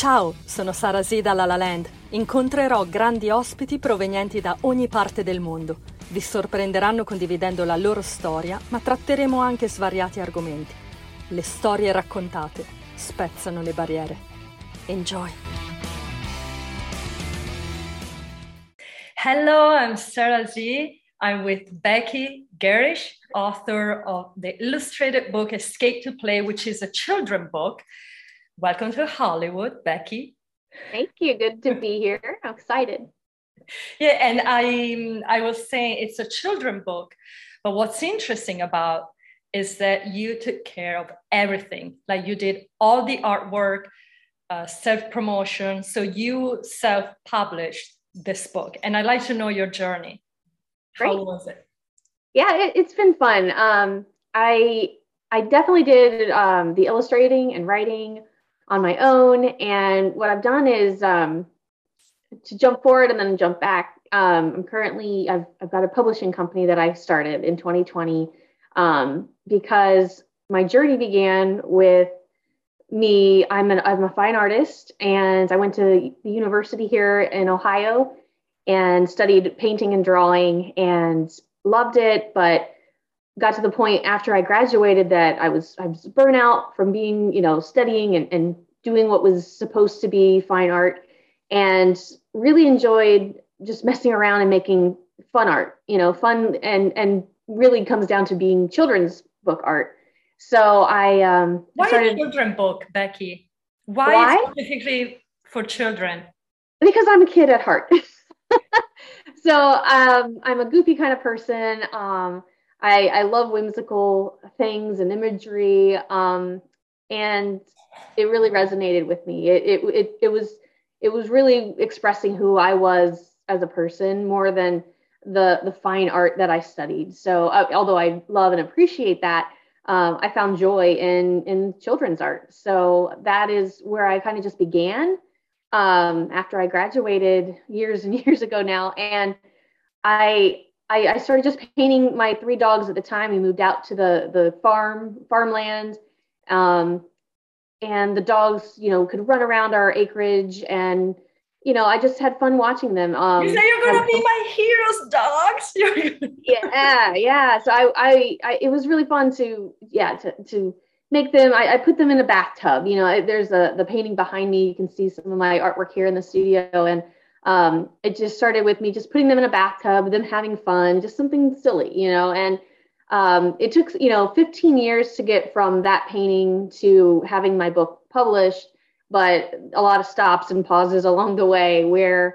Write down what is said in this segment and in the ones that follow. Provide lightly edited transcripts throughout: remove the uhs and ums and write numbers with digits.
Ciao, sono Sara Z da La La Land. Incontrerò grandi ospiti provenienti da ogni parte del mondo. Vi sorprenderanno condividendo la loro storia, ma tratteremo anche svariati argomenti. Le storie raccontate spezzano le barriere. Enjoy! Hello, I'm Sara Z. I'm with Becky Garish, author of the illustrated book Escape to Play, which is a children's book. Welcome to Hollywood, Becky. Thank you. Good to be here. I'm excited. Yeah, and I was saying it's a children's book, but what's interesting about is that you took care of everything. Like you did all the artwork, self-promotion. So you self-published this book, and I'd like to know your journey. Great. How was it? Yeah, it's been fun. I definitely did the illustrating and writing on my own, and what I've done is to jump forward and then jump back. I've got a publishing company that I started in 2020 because my journey began with me. I'm a fine artist, and I went to the university here in Ohio and studied painting and drawing and loved it, but got to the point after I graduated that I was burnout from being, studying and doing what was supposed to be fine art, and really enjoyed just messing around and making fun art, fun and really comes down to being children's book art. So Why started a children's book, Becky? Why? Specifically for children? Because I'm a kid at heart. So I'm a goofy kind of person. I love whimsical things and imagery, and it really resonated with me. It was really expressing who I was as a person more than the fine art that I studied. So although I love and appreciate that, I found joy in children's art. So that is where I kind of just began after I graduated years and years ago now, and I started just painting my 3 dogs at the time. We moved out to the farmland, and the dogs, could run around our acreage, and I just had fun watching them. You say you're gonna be my hero's dogs. Yeah. So I it was really fun to make them. I put them in a bathtub. There's the painting behind me. You can see some of my artwork here in the studio, and it just started with me just putting them in a bathtub, them having fun, just something silly, and it took 15 years to get from that painting to having my book published, but a lot of stops and pauses along the way where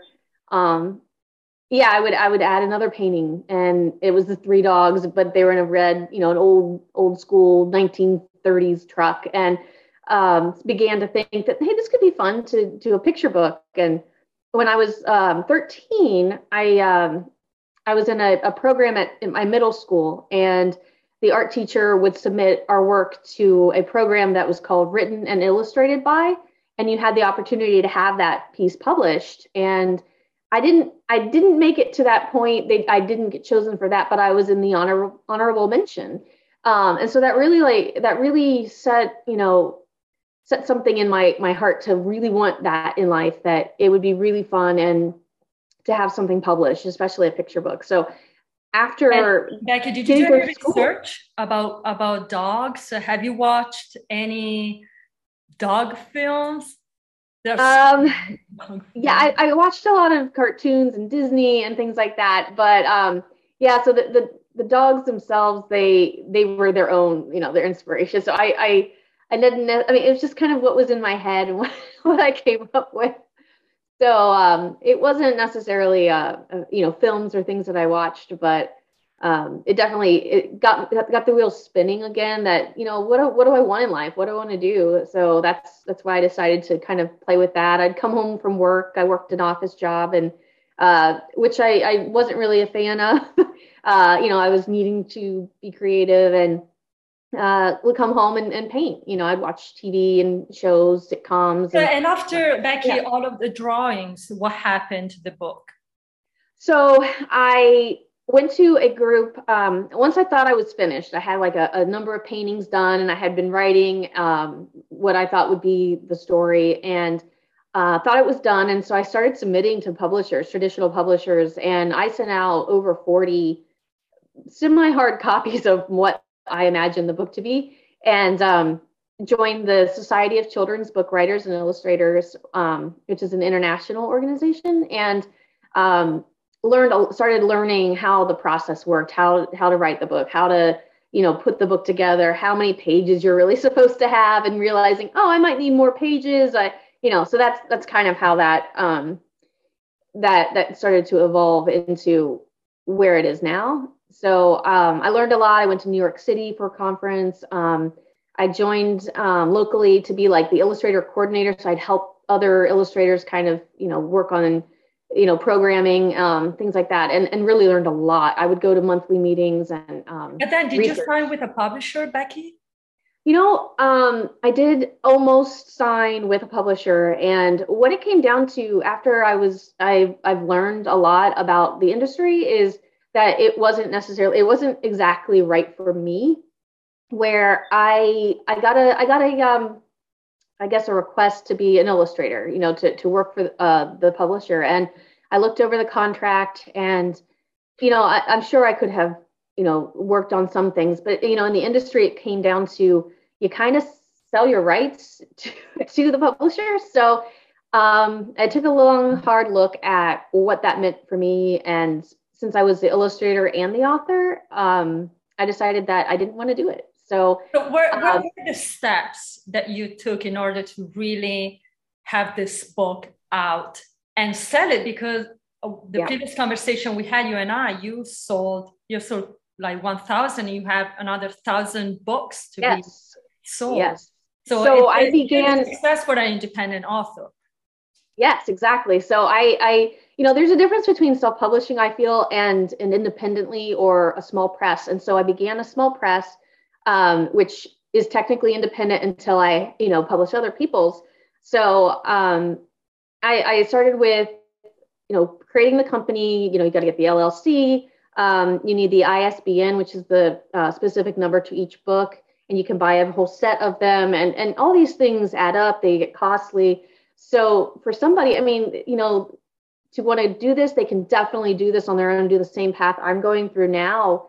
I would add another painting, and it was the 3 dogs, but they were in a red, an old school 1930s truck, and began to think that, hey, this could be fun to do a picture book. And when I was 13, I was in a program in my middle school, and the art teacher would submit our work to a program that was called Written and Illustrated By, and you had the opportunity to have that piece published. And I didn't make it to that point. I didn't get chosen for that, but I was in the honorable mention. And so that really set something in my heart to really want that in life, that it would be really fun and to have something published, especially a picture book. So after Becky, did you do any research about dogs? Have you watched any dog films? I watched a lot of cartoons and Disney and things like that. But so the dogs themselves, they were their own, their inspiration. So I didn't. I mean, it was just kind of what was in my head and what I came up with. So it wasn't necessarily films or things that I watched, but it got the wheels spinning again. That what do I want in life? What do I want to do? So that's why I decided to kind of play with that. I'd come home from work. I worked an office job, and which I wasn't really a fan of. I was needing to be creative and would come home and paint. I'd watch TV and shows, sitcoms. And after, Becky, all of the drawings, what happened to the book? So I went to a group. Once I thought I was finished, I had like a number of paintings done, and I had been writing what I thought would be the story. And thought it was done. And so I started submitting to publishers, traditional publishers, and I sent out over 40 semi-hard copies of what I imagined the book to be, and joined the Society of Children's Book Writers and Illustrators, which is an international organization, and started learning how the process worked, how to write the book, how to put the book together, how many pages you're really supposed to have, and realizing, oh, I might need more pages. So that's kind of how that that started to evolve into where it is now. So I learned a lot. I went to New York City for a conference. I joined locally to be like the illustrator coordinator. So I'd help other illustrators kind of, work on, programming, things like that, and really learned a lot. I would go to monthly meetings and then did research. You sign with a publisher, Becky? I did almost sign with a publisher, and what it came down to after I've learned a lot about the industry is that it wasn't exactly right for me, where I got a request to be an illustrator, to work for the publisher. And I looked over the contract, and, I'm sure I could have, worked on some things, but, in the industry, it came down to, you kind of sell your rights to the publisher. So I took a long, hard look at what that meant for me. And since I was the illustrator and the author, I decided that I didn't want to do it. So what were the steps that you took in order to really have this book out and sell it? Because the previous conversation we had, you and I, you sold like 1,000, you have another 1,000 books to be sold. Yes. So I began success for an independent author. Yes, exactly. So I there's a difference between self-publishing, I feel, and an independently or a small press. And so I began a small press, which is technically independent until I, publish other people's. So I started with, creating the company. You got to get the LLC. You need the ISBN, which is the specific number to each book, and you can buy a whole set of them. And all these things add up. They get costly. So for somebody, to want to do this, they can definitely do this on their own, do the same path I'm going through now.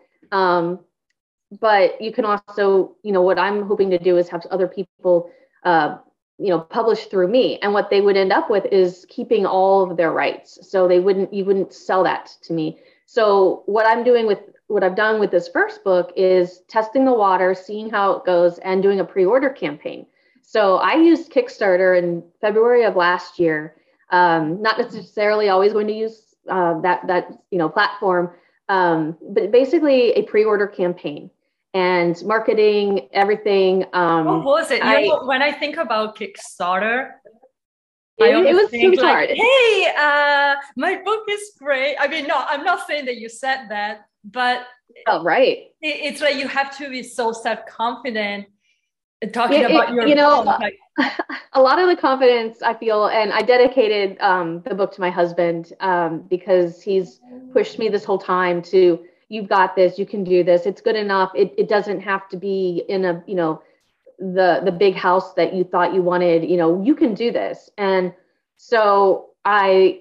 But you can also, what I'm hoping to do is have other people, publish through me. And what they would end up with is keeping all of their rights. So you wouldn't sell that to me. So what I've done with this first book is testing the water, seeing how it goes, and doing a pre-order campaign. So I used Kickstarter in February of last year. Not necessarily always going to use that platform, but basically a pre-order campaign and marketing, everything. What was it? When I think about Kickstarter, it was think hard. Hey, my book is great. I mean, no, I'm not saying that you said that, but right. It's like you have to be so self-confident talking about your book. A lot of the confidence I feel, and I dedicated the book to my husband because he's pushed me this whole time to, you've got this, you can do this, it's good enough. It doesn't have to be in a, the big house that you thought you wanted, you can do this. And so I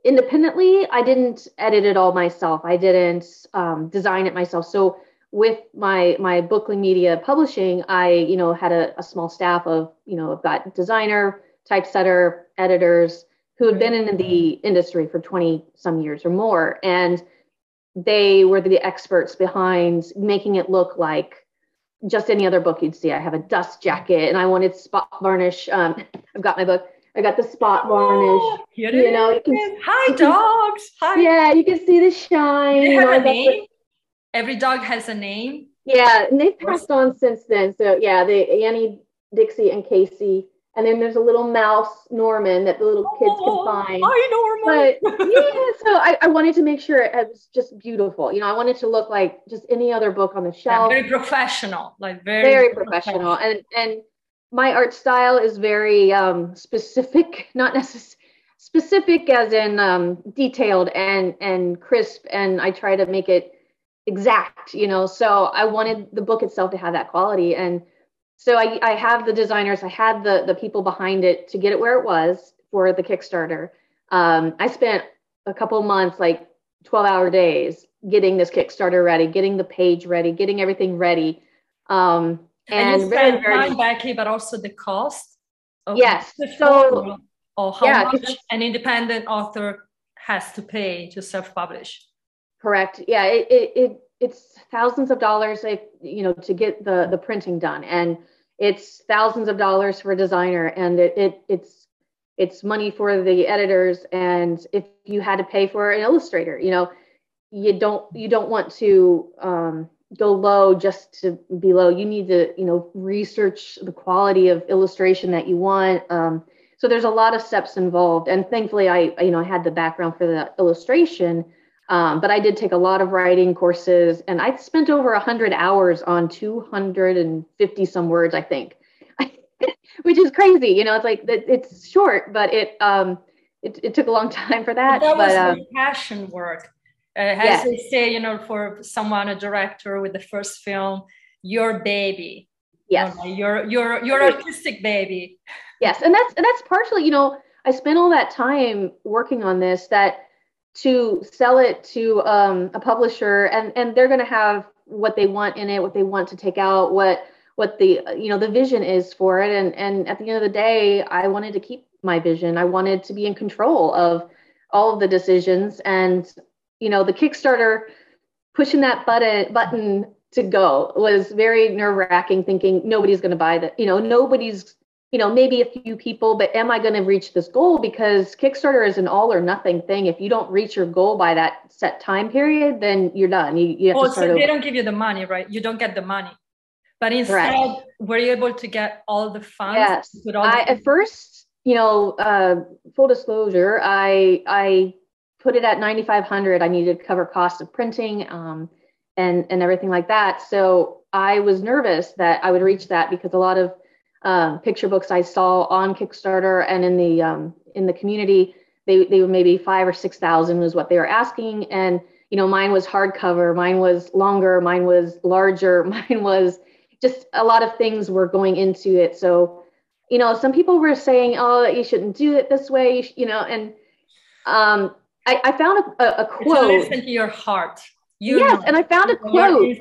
didn't edit it all myself. I didn't design it myself. So with my Bookly Media Publishing, I, had a small staff of, I've got designer, typesetter, editors who had been in the industry for 20 some years or more. And they were the experts behind making it look like just any other book you'd see. I have a dust jacket and I wanted spot varnish. I've got my book. I got the spot varnish. Hi, dogs. Hi. Yeah, you can see the shine. They have a name? Every dog has a name. Yeah, and they've passed on since then. So yeah, Annie, Dixie, and Casey. And then there's a little mouse, Norman, that the little kids can find. Hi, Norman. But yeah, so I wanted to make sure it was just beautiful. I wanted to look like just any other book on the shelf. Yeah, very professional, like very professional. And my art style is very specific, not necessarily specific as in detailed and crisp. And I try to make it exact, so I wanted the book itself to have that quality. And so I have the designers, I had the people behind it to get it where it was for the Kickstarter. I spent a couple months, like 12-hour days, getting this Kickstarter ready, getting the page ready, getting everything ready. And you spend time, Becky, but also the cost of yes. So, or how much an independent author has to pay to self-publish. Correct. Yeah, it's thousands of dollars, to get the printing done, and it's thousands of dollars for a designer, and it's money for the editors, and if you had to pay for an illustrator, you don't want to go low just to be low. You need to research the quality of illustration that you want. So there's a lot of steps involved, and thankfully I had the background for the illustration. But I did take a lot of writing courses, and I spent over 100 hours on 250 some words, I think, which is crazy. It's like it's short, but it took a long time for that. That was passion work. As they say, for someone, a director with the first film, your baby. Yes. Your artistic baby. Yes, and that's partially, I spent all that time working on this to sell it to a publisher, and they're going to have what they want in it, what they want to take out, what the the vision is for it, and at the end of the day, I wanted to keep my vision. I wanted to be in control of all of the decisions, and the Kickstarter, pushing that button to go was very nerve-wracking, thinking nobody's going to buy that, nobody's, maybe a few people, but am I going to reach this goal? Because Kickstarter is an all or nothing thing. If you don't reach your goal by that set time period, then you're done. You have to start so over. They don't give you the money, right? You don't get the money. But instead, Correct. Were you able to get all the funds? Yes. At first, full disclosure, I put it at 9,500. I needed to cover cost of printing and everything like that. So I was nervous that I would reach that, because a lot of picture books I saw on Kickstarter and in the community, they were maybe 5,000 or 6,000 was what they were asking. And, mine was hardcover, mine was longer, mine was larger, mine was just a lot of things were going into it. So, some people were saying, oh, you shouldn't do it this way, and I found a quote. Listen to your heart. Yes, and I found a quote.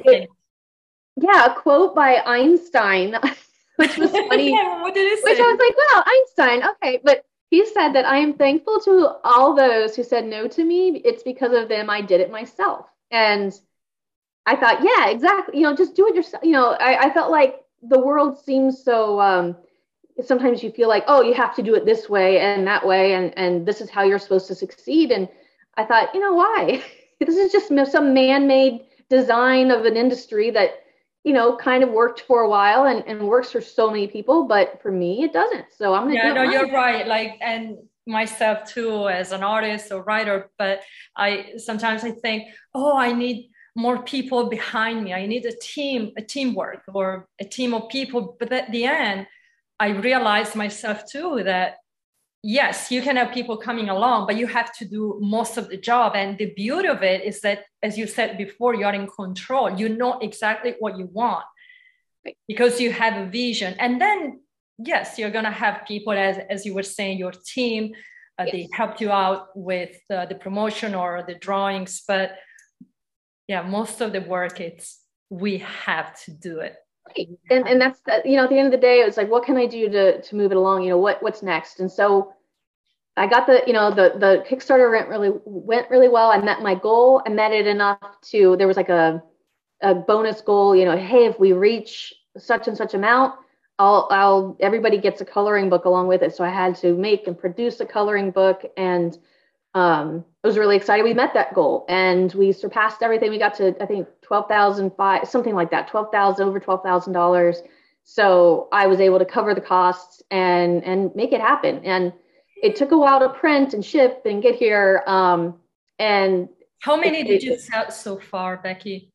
A quote by Einstein, which was funny. Yeah, what did he say? Which I was like, wow, Einstein, okay. But he said that I am thankful to all those who said no to me. It's because of them I did it myself. And I thought, yeah, exactly. Just do it yourself. I felt like the world seems so, sometimes you feel like, oh, you have to do it this way and that way, and this is how you're supposed to succeed. And I thought, why? This is just some man-made design of an industry that, kind of worked for a while and works for so many people, but for me, it doesn't. So I'm going to do it. No, you're right. And myself too, as an artist or writer, but sometimes I think, oh, I need more people behind me. I need a teamwork or a team of people. But at the end, I realized myself too that yes, you can have people coming along, but you have to do most of the job. And the beauty of it is that, as you said before, you're in control. You know exactly what you want because you have a vision. And then, yes, you're going to have people, as you were saying, your team, they helped you out with the promotion or the drawings. But yeah, most of the work, we have to do it. And that's at the end of the day, it's like, what can I do to move it along? What's next? And so I got the Kickstarter went really well. I met my goal. I met it enough there was like a bonus goal, hey, if we reach such and such amount, everybody gets a coloring book along with it. So I had to make and produce a coloring book, and I was really excited. We met that goal and we surpassed everything. We got to, I think, $12,500, something like that, over $12,000. So I was able to cover the costs and make it happen. And it took a while to print and ship and get here. And how many did you sell so far, Becky?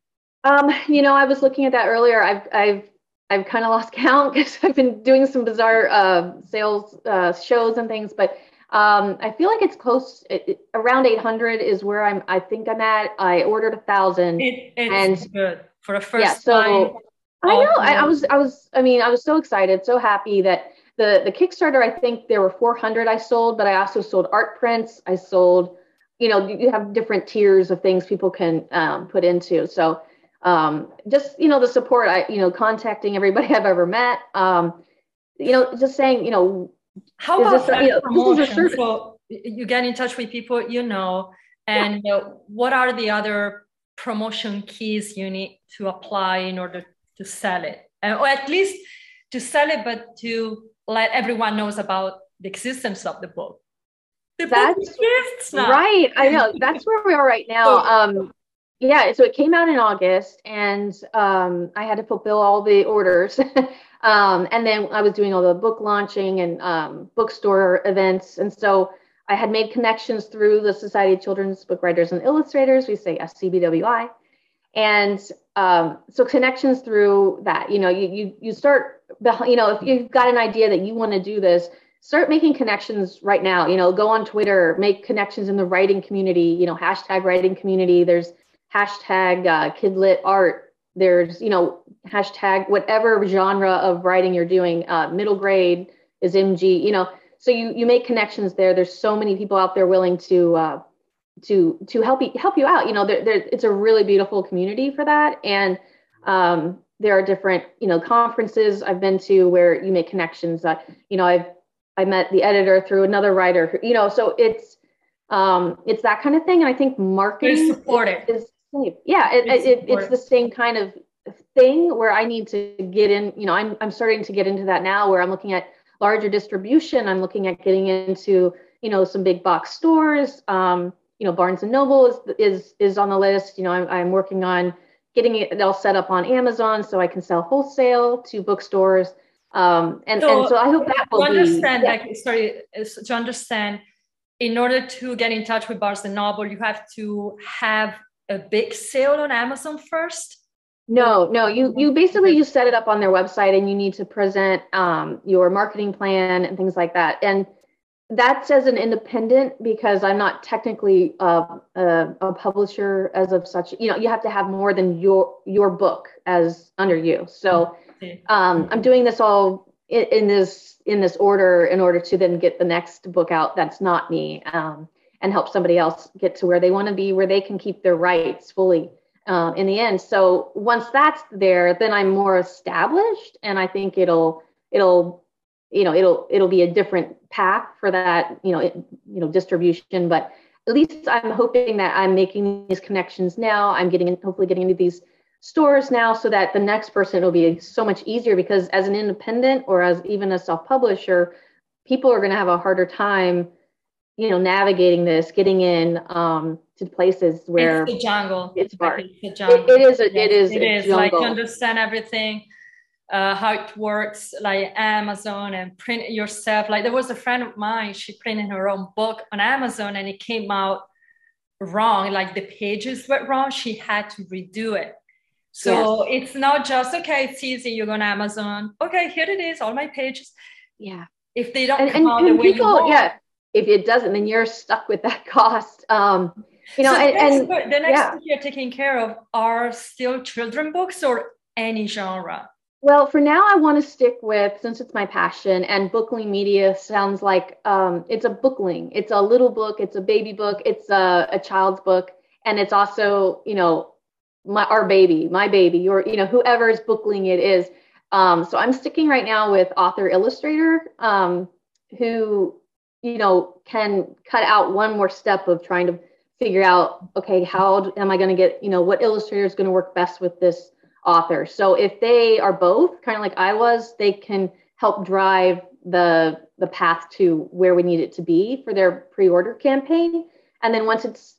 I was looking at that earlier. I've kind of lost count because I've been doing some bizarre sales shows and things, but I feel like it's close. Around 800 is where I think I'm at. I ordered 1,000. It's good for a first time. So I know. I was so excited, so happy that the Kickstarter, I think there were 400 I sold, but I also sold art prints. I sold, you have different tiers of things people can put into. So just, the support, contacting everybody I've ever met, just saying, how is about this, this is a promotion? service. So you get in touch with people, and what are the other promotion keys you need to apply in order to sell it, or at least to sell it, but to let everyone knows about the existence of the book. The book exists now. Right. I know. That's where we are right now. Yeah. So it came out in August, and I had to fulfill all the orders. And then I was doing all the book launching and bookstore events. And so I had made connections through the Society of Children's Book Writers and Illustrators. We say SCBWI. And so connections through that, you start, if you've got an idea that you want to do this, start making connections right now, go on Twitter, make connections in the writing community, hashtag writing community. There's hashtag kidlit art. There's, hashtag whatever genre of writing you're doing, middle grade is MG, so you make connections there. There's so many people out there willing to help you out. It's a really beautiful community for that. And there are different, conferences I've been to where you make connections. I met the editor through another writer, so it's that kind of thing. And I think marketing is it's the same kind of thing where I need to get in, I'm starting to get into that now, where I'm looking at larger distribution. I'm looking at getting into, some big box stores. Barnes and Noble is on the list. I'm working on getting it all set up on Amazon so I can sell wholesale to bookstores. So I hope that will to understand, in order to get in touch with Barnes and Noble, you have to have a big sale on Amazon first. No, you basically you set it up on their website, and you need to present your marketing plan and things like that. And that's as an independent, because I'm not technically a publisher as of such. You have to have more than your book as under you. So I'm doing this all in this order in order to then get the next book out that's not me, and help somebody else get to where they want to be, where they can keep their rights fully in the end. So once that's there, then I'm more established, and I think it'll be a different path for that, distribution. But at least I'm hoping that I'm making these connections now. I'm hopefully getting into these stores now, so that the next person will be so much easier, because as an independent or as even a self-publisher, people are going to have a harder time, navigating this, getting in to places where it's the jungle. It's hard. It's the jungle. It is like to understand everything. How it works, like Amazon, and print it yourself. Like there was a friend of mine, she printed her own book on Amazon, and it came out wrong. Like the pages were wrong. She had to redo it. So It's not just, okay, it's easy, you go on Amazon. Okay, here it is, all my pages. Yeah. If they don't come out the way you want. If it doesn't, then you're stuck with that cost. The next book you're taking care of are still children books or any genre? Well, for now, I want to stick with, since it's my passion, and Bookling Media sounds like it's a bookling. It's a little book. It's a baby book. It's a child's book. And it's also, my baby, or, whoever's bookling it is. So I'm sticking right now with author illustrator, who, can cut out one more step of trying to figure out, okay, how am I going to get, what illustrator is going to work best with this author. So if they are both kind of like I was, they can help drive the path to where we need it to be for their pre-order campaign. And then once it's,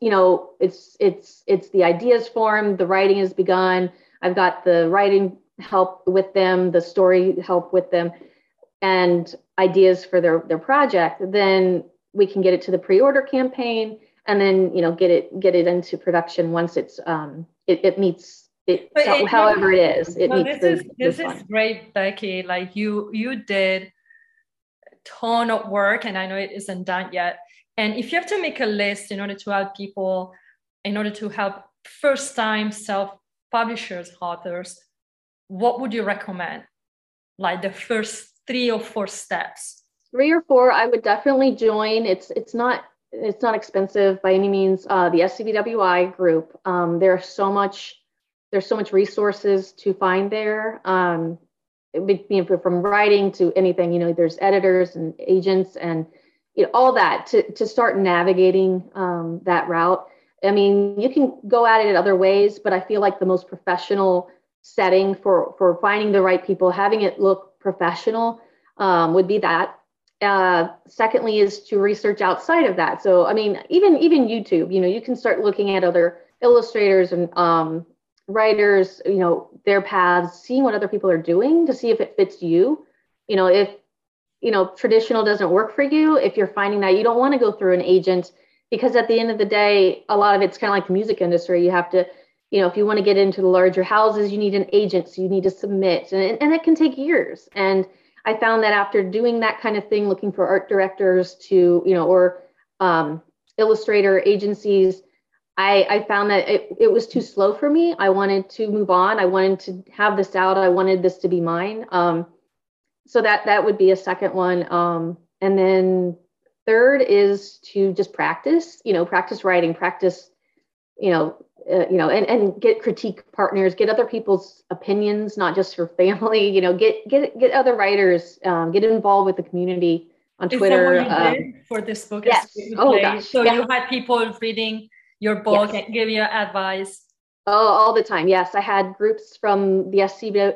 it's the ideas formed, the writing has begun. I've got the writing help with them, the story help with them, and ideas for their project. Then we can get it to the pre-order campaign, and then get it into production once it's it meets. However it is, it needs this is great, Becky. Like you did a ton of work, and I know it isn't done yet. And if you have to make a list in order to help people, in order to help first-time self-publishers, authors, what would you recommend? Like the first three or four steps? 3 or 4, I would definitely join. It's not expensive by any means. The SCBWI group. There's so much resources to find there. From writing to anything, there's editors and agents and all that to start navigating that route. I mean, you can go at it other ways, but I feel like the most professional setting for finding the right people, having it look professional, would be that. Secondly is to research outside of that. So, I mean, even YouTube, you can start looking at other illustrators and writers, their paths, seeing what other people are doing to see if it fits you. If, traditional doesn't work for you, if you're finding that you don't want to go through an agent, because at the end of the day, a lot of it's kind of like the music industry. You have to, if you want to get into the larger houses, you need an agent, so you need to submit, and it can take years. And I found that after doing that kind of thing, looking for art directors to, or illustrator agencies, I found that it was too slow for me. I wanted to move on. I wanted to have this out. I wanted this to be mine. So that would be a second one. And then third is to just practice writing, practice, and get critique partners, get other people's opinions, not just your family, get other writers, get involved with the community on Twitter. Is that what you did for this book? Yes. Oh, gosh. So you had people reading your book and give you advice? Oh, all the time. Yes. I had groups from the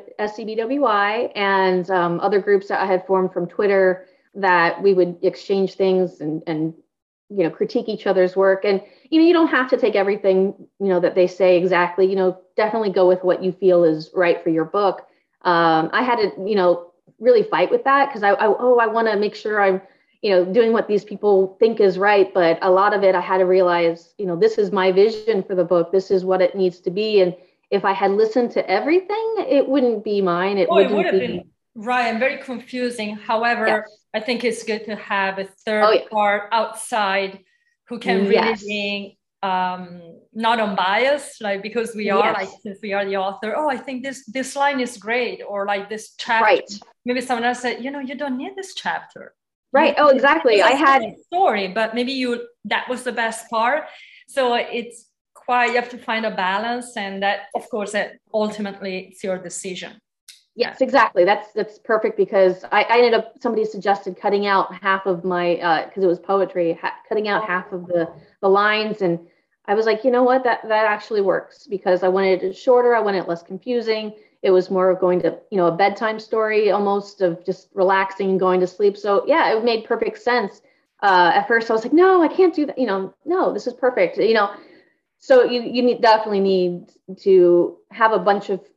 SCBWI and other groups that I had formed from Twitter that we would exchange things and critique each other's work. And, you don't have to take everything, that they say exactly, definitely go with what you feel is right for your book. I had to, really fight with that because I want to make sure I'm, doing what these people think is right. But a lot of it, I had to realize, this is my vision for the book. This is what it needs to be. And if I had listened to everything, it wouldn't be mine. It would have been right. And very confusing. However, I think it's good to have a third part outside who can really be not unbiased, like, because we are since we are the author, I think this line is great, or like this chapter. Right. Maybe someone else said, you don't need this chapter. Right. Oh, exactly. I had a story, but maybe that was the best part. So it's you have to find a balance, and that, of course, ultimately it's your decision. Yes, exactly. That's perfect, because I ended up, somebody suggested cutting out half of my, because it was poetry, cutting out half of the lines. And I was like, you know what, that actually works, because I wanted it shorter. I wanted it less confusing. It was more of going to, a bedtime story, almost, of just relaxing and going to sleep. So yeah, it made perfect sense. At first I was like, no, I can't do that. No, this is perfect. So you definitely need to have a bunch of,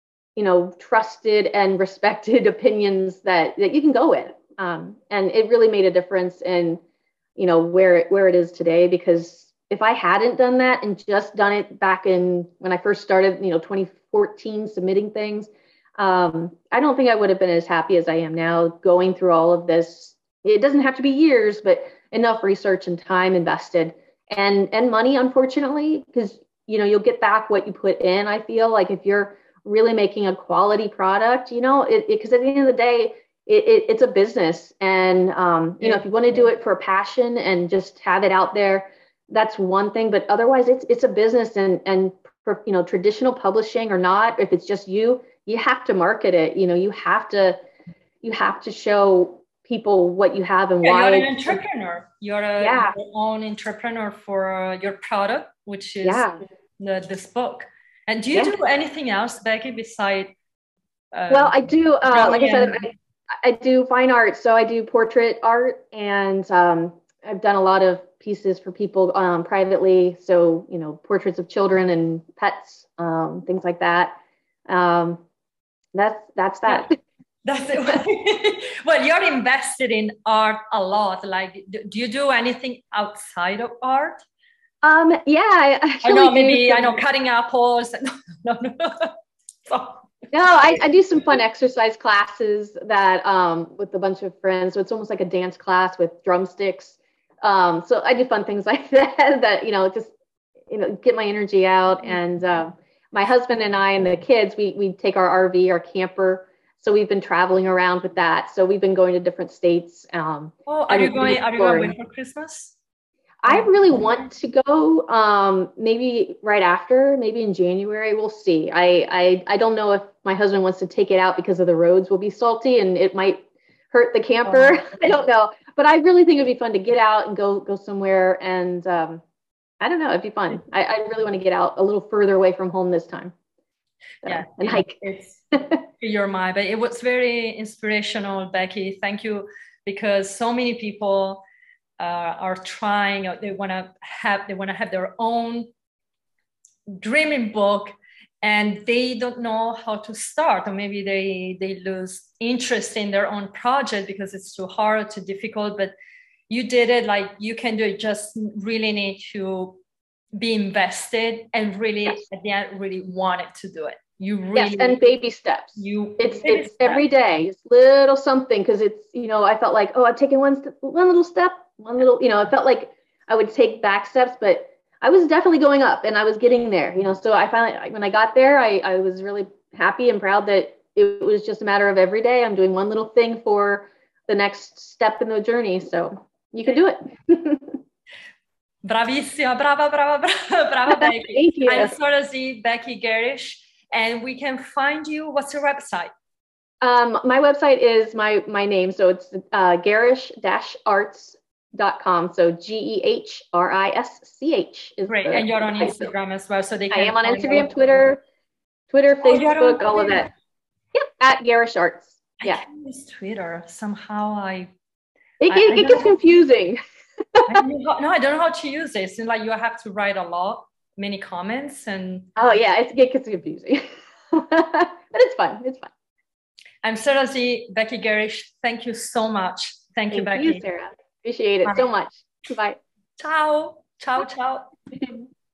trusted and respected opinions that you can go with. And it really made a difference in, where it is today, because if I hadn't done that and just done it back in when I first started, 2014, submitting things, I don't think I would have been as happy as I am now, going through all of this. It doesn't have to be years, but enough research and time invested, and money, unfortunately, because, you'll get back what you put in. I feel like if you're really making a quality product, because at the end of the day, it's a business. And, if you want to do it for passion and just have it out there, that's one thing. But otherwise, it's a business, and for, traditional publishing or not, if it's just you have to market it. You have to show people what you have and why. You're an entrepreneur. You're your own entrepreneur for your product, which is this book. And do you do anything else, Becky, besides? Well, I do. Like I said, I do fine art. So I do portrait art, and I've done a lot of pieces for people privately. So, portraits of children and pets, things like that. That's that. That's it. Well, you're invested in art a lot. Like, do you do anything outside of art? I know cutting apples. No. No, I do some fun exercise classes that with a bunch of friends. So it's almost like a dance class with drumsticks. So I do fun things like that just get my energy out. And my husband and I and the kids, we take our RV, our camper. So we've been traveling around with that. So we've been going to different states. Are you going for Christmas? I really want to go, maybe right after, maybe in January. We'll see. I don't know if my husband wants to take it out because of the roads will be salty and it might hurt the camper. I don't know, but I really think it'd be fun to get out and go somewhere. And I don't know, it'd be fun. I really want to get out a little further away from home this time. So, yeah, and hike. It's your mind, but it was very inspirational, Becky. Thank you, because so many people are trying. They want to have their own dreaming book, and they don't know how to start, or maybe they lose interest in their own project because it's too hard, too difficult. But you did it. Like, you can do it. Just really need to be invested and really, yes, at the end, really wanted to do it. You really, yes, and baby steps. It's every day, it's little something, because it's, I felt like, oh, I've taken one little step, one little, it felt like I would take back steps, but I was definitely going up and I was getting there, so I finally, when I got there, I was really happy and proud that it was just a matter of every day I'm doing one little thing for the next step in the journey. So you can do it. Bravissima, brava Becky. Thank you. I'm Sorazy, Becky Garish, and we can find you. What's your website? My website is my name, so it's garish-arts.com. So GEHRISCH is great. And you're on Instagram as well, so they can. I am on Instagram, Twitter, Facebook, all of that. Yep, at Garish Arts. Yeah. I can't use Twitter. Somehow it gets confusing. I don't know how to use it. It's like you have to write many comments, and it gets confusing. But it's fun. I'm Sorazy, Becky Garish. Thank you so much. Thank you, Becky. Thank you, Sarah. Appreciate it so much. Bye. Ciao.